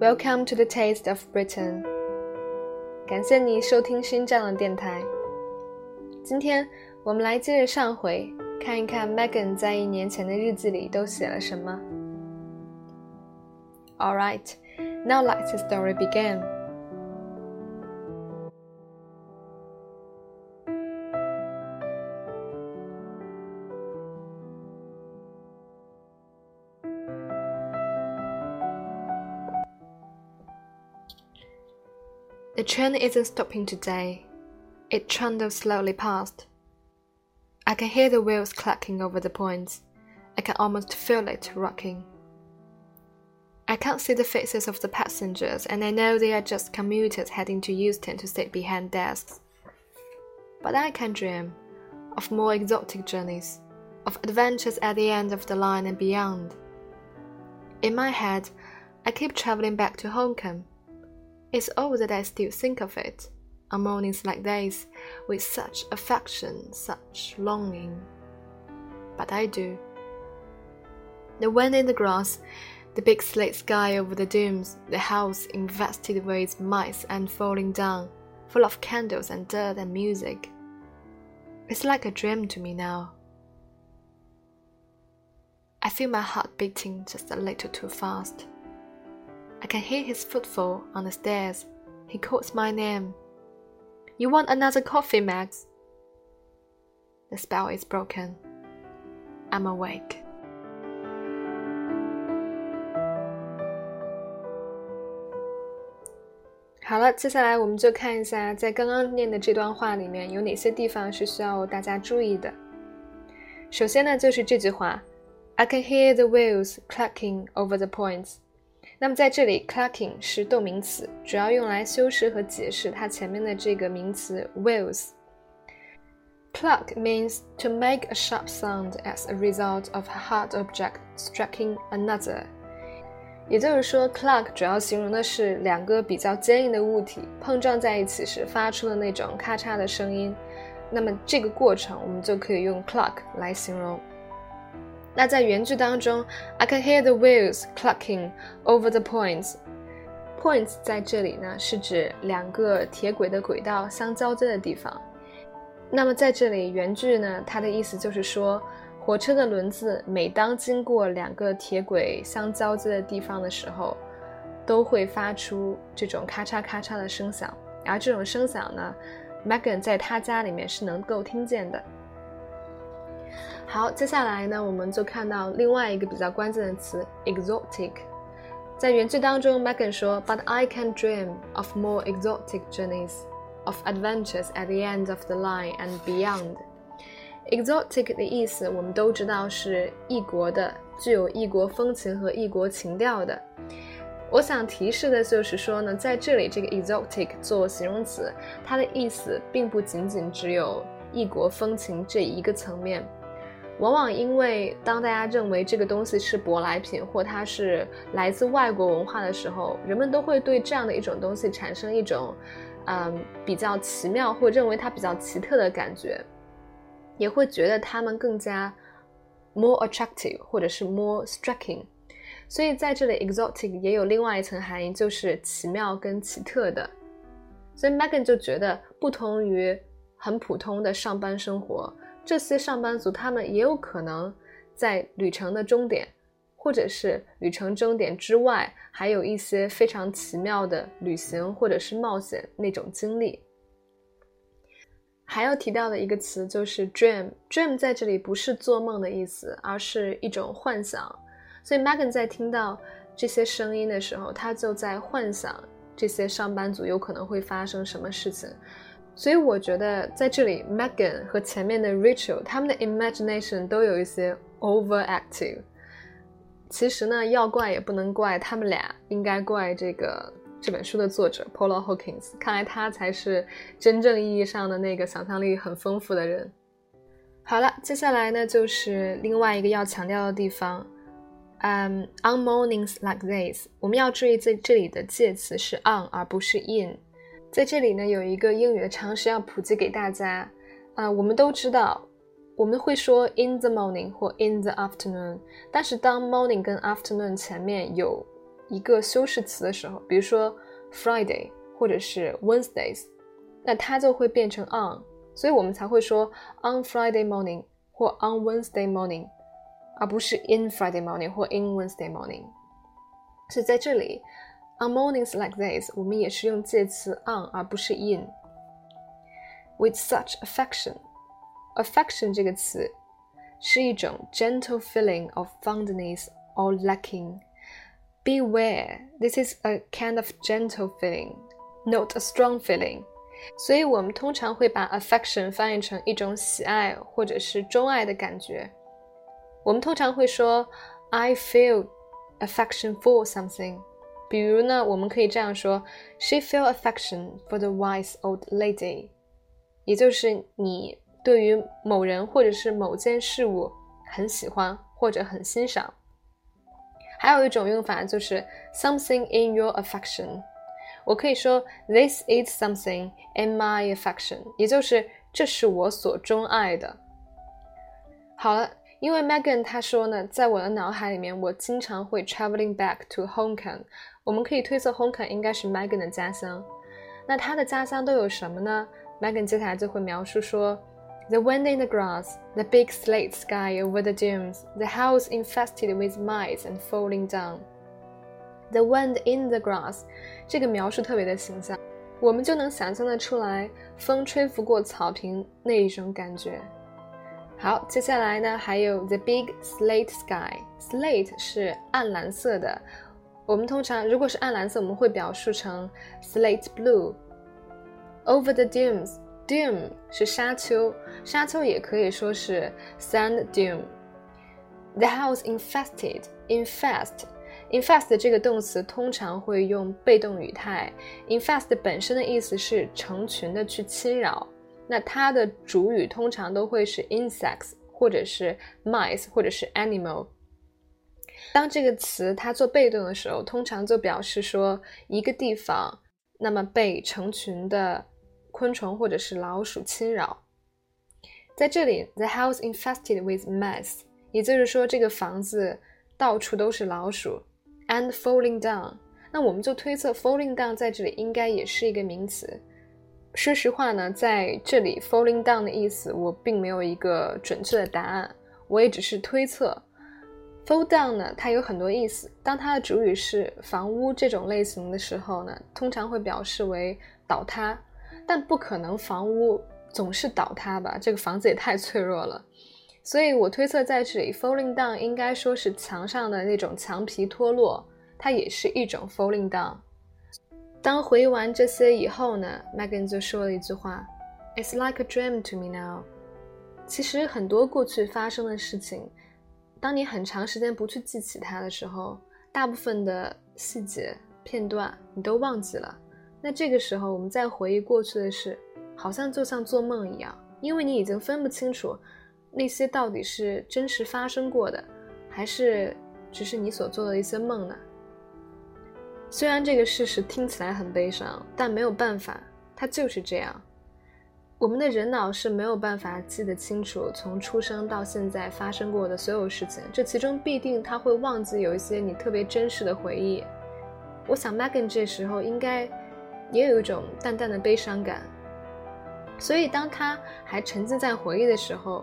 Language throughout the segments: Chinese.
Welcome to the Taste of Britain. 感谢你收听新站的电台。今天我们来接着上回，看一看 Megan 在1年前的日记里都写了什么。Alright, now let the story begin.The train isn't stopping today. It trundles slowly past. I can hear the wheels clacking over the points. I can almost feel it rocking. I can't see the faces of the passengers, and I know they are just commuters heading to Euston to sit behind desks. But I can dream of more exotic journeys, of adventures at the end of the line and beyond. In my head, I keep travelling back to Hong Kong.It's odd that I still think of it, on mornings like these, with such affection, such longing. But I do. The wind in the grass, the big slate sky over the dunes, the house invested with mice and falling down, full of candles and dirt and music. It's like a dream to me now. I feel my heart beating just a little too fast.I can hear his footfall on the stairs. He calls my name. You want another coffee, Max? The spell is broken. I'm awake. 好了，接下来我们就看一下在刚刚念的这段话里面有哪些地方是需要大家注意的。首先呢，就是这句话 I can hear the wheels clacking over the points.那么在这里 clacking 是动名词，主要用来修饰和解释它前面的这个名词 wheels. Clack means to make a sharp sound as a result of a hard object striking another. 也就是说 clack 主要形容的是两个比较坚硬的物体碰撞在一起时发出的那种咔嚓的声音，那么这个过程我们就可以用 clack 来形容。那在原句当中 I can hear the wheels clacking over the points. Points 在这里呢是指两个铁轨的轨道相交接的地方。那么在这里原句呢它的意思就是说火车的轮子每当经过两个铁轨相交接的地方的时候都会发出这种咔嚓咔嚓的声响，而这种声响呢 Megan 在她家里面是能够听见的。好，接下来呢我们就看到另外一个比较关键的词 exotic。 在原句当中 Megan 说 But I can dream of more exotic journeys, of adventures at the end of the line and beyond. Exotic 的意思我们都知道是异国的，具有异国风情和异国情调的。我想提示的就是说呢，在这里这个 exotic 做形容词，它的意思并不仅仅只有异国风情这一个层面。往往因为当大家认为这个东西是舶来品或它是来自外国文化的时候，人们都会对这样的一种东西产生一种比较奇妙或认为它比较奇特的感觉，也会觉得它们更加 more attractive 或者是 more striking。 所以在这里 exotic 也有另外一层含义，就是奇妙跟奇特的。所以 Megan 就觉得不同于很普通的上班生活，这些上班族他们也有可能在旅程的终点或者是旅程终点之外还有一些非常奇妙的旅行或者是冒险那种经历。还要提到的一个词就是 dream。 dream 在这里不是做梦的意思，而是一种幻想。所以 Megan 在听到这些声音的时候，她就在幻想这些上班族有可能会发生什么事情。所以我觉得在这里 Megan 和前面的 Rachel 他们的 imagination 都有一些 overactive。 其实呢要怪也不能怪他们俩，应该怪这本书的作者 Paula Hawkins， 看来他才是真正意义上的那个想象力很丰富的人。好了，接下来呢就是另外一个要强调的地方on mornings like this， 我们要注意在这里的介词是 on 而不是 in。在这里呢有一个英语的常识要普及给大家。我们都知道我们会说 in the morning 或 in the afternoon， 但是当 morning 跟 afternoon 前面有一个修饰词的时候，比如说 Friday 或者是 Wednesdays， 那它就会变成 on， 所以我们才会说 on Friday morning 或 on Wednesday morning， 而不是 in Friday morning 或 in Wednesday morning。 所以在这里 on mornings like this 我们也是用介词 on 而不是 in。 With such affection， affection 这个词是一种 gentle feeling of fondness or liking. Beware, this is a kind of gentle feeling, not a strong feeling. 所以我们通常会把 affection 翻译成一种喜爱或者是钟爱的感觉。我们通常会说 I feel affection for something。 比如呢，我们可以这样说 She feel affection for the wise old lady， 也就是你对于某人或者是某件事物很喜欢或者很欣赏。还有一种用法就是 something in your affection， 我可以说 This is something in my affection， 也就是这是我所钟爱的。好了，因为 Megan 她说呢，在我的脑海里面我经常会 traveling back to Hong Kong， 我们可以推测 Hong Kong 应该是 Megan 的家乡。那她的家乡都有什么呢？ Megan 接下来就会描述说The wind in the grass, the big slate sky over the dunes, the house infested with mice and falling down. The wind in the grass， 这个描述特别的形象，我们就能想象得出来风吹拂过草坪那一种感觉。好，接下来呢还有 the big slate sky， slate 是暗蓝色的，我们通常如果是暗蓝色我们会表述成 slate blue。 Over the dunes，Dune 是沙丘，沙丘也可以说是 sand dune。 The house infested， infest 这个动词通常会用被动语态， infest 本身的意思是成群的去侵扰，那它的主语通常都会是 insects 或者是 mice 或者是 animal。 当这个词它做被动的时候，通常就表示说一个地方那么被成群的昆虫或者是老鼠侵扰。在这里 the house infested with mice， 也就是说这个房子到处都是老鼠。 and falling down， 那我们就推测 falling down 在这里应该也是一个名词。说实话呢，在这里 falling down 的意思我并没有一个准确的答案，我也只是推测。 fall down 呢它有很多意思，当它的主语是房屋这种类型的时候呢，通常会表示为倒塌，但不可能房屋总是倒塌吧，这个房子也太脆弱了。所以我推测在这里 falling down 应该说是墙上的那种墙皮脱落，它也是一种 falling down。 当回忆完这些以后呢， Megan 就说了一句话 It's like a dream to me now。 其实很多过去发生的事情，当你很长时间不去记起它的时候，大部分的细节片段你都忘记了，那这个时候我们再回忆过去的事，好像就像做梦一样，因为你已经分不清楚那些到底是真实发生过的，还是只是你所做的一些梦呢？虽然这个事实听起来很悲伤，但没有办法，它就是这样。我们的人脑是没有办法记得清楚从出生到现在发生过的所有事情，这其中必定它会忘记有一些你特别真实的回忆。我想 Megan 这时候应该也有一种淡淡的悲伤感，所以当他还沉浸在回忆的时候，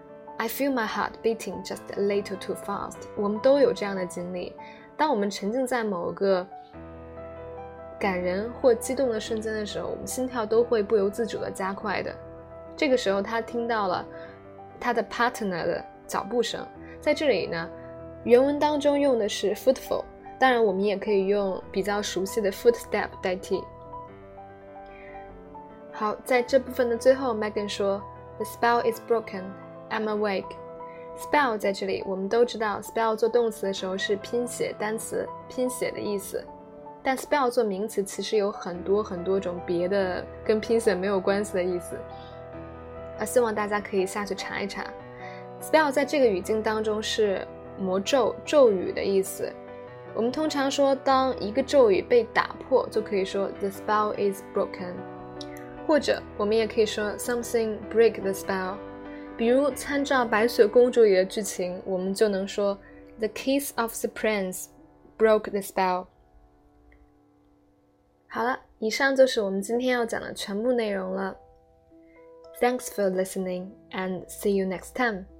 I feel my heart beating just a little too fast。 我们都有这样的经历，当我们沉浸在某个感人或激动的瞬间的时候，我们心跳都会不由自主的加快的。这个时候他听到了他的 partner 的脚步声，在这里呢原文当中用的是 footfall， 当然我们也可以用比较熟悉的 footstep 代替。好，在这部分的最后 Megan 说 The spell is broken, I'm awake。 Spell 在这里我们都知道 spell 做动词的时候是拼写单词拼写的意思，但 spell 做名词其实有很多很多种别的跟拼写没有关系的意思，希望大家可以下去查一查。 spell 在这个语境当中是魔咒咒语的意思，我们通常说当一个咒语被打破就可以说 The spell is broken， 或者我们也可以说 something break the spell。 比如参照白雪公主里的剧情，我们就能说 The kiss of the prince broke the spell， 好了，以上就是我们今天要讲的全部内容了。Thanks for listening and see you next time.